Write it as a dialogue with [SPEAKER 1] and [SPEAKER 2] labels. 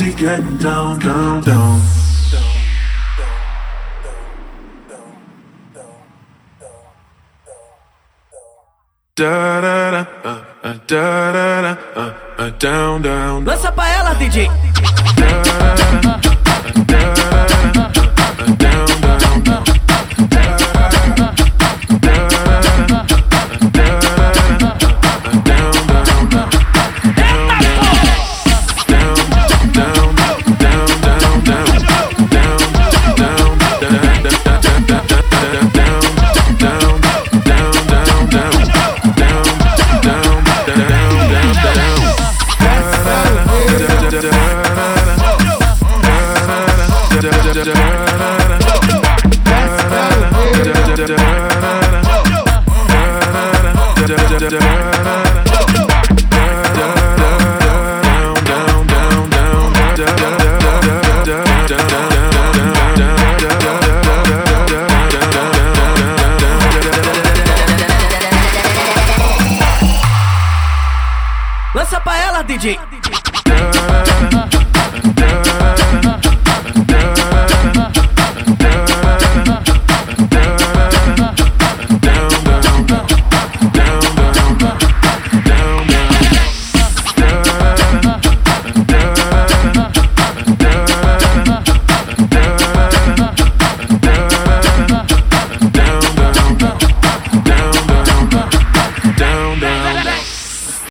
[SPEAKER 1] she getting down, down, down. Da da da, da da da, down, down.
[SPEAKER 2] Lança pra ela, DJ.
[SPEAKER 1] Da da da, down, down.
[SPEAKER 2] Lança pra ela, DJ.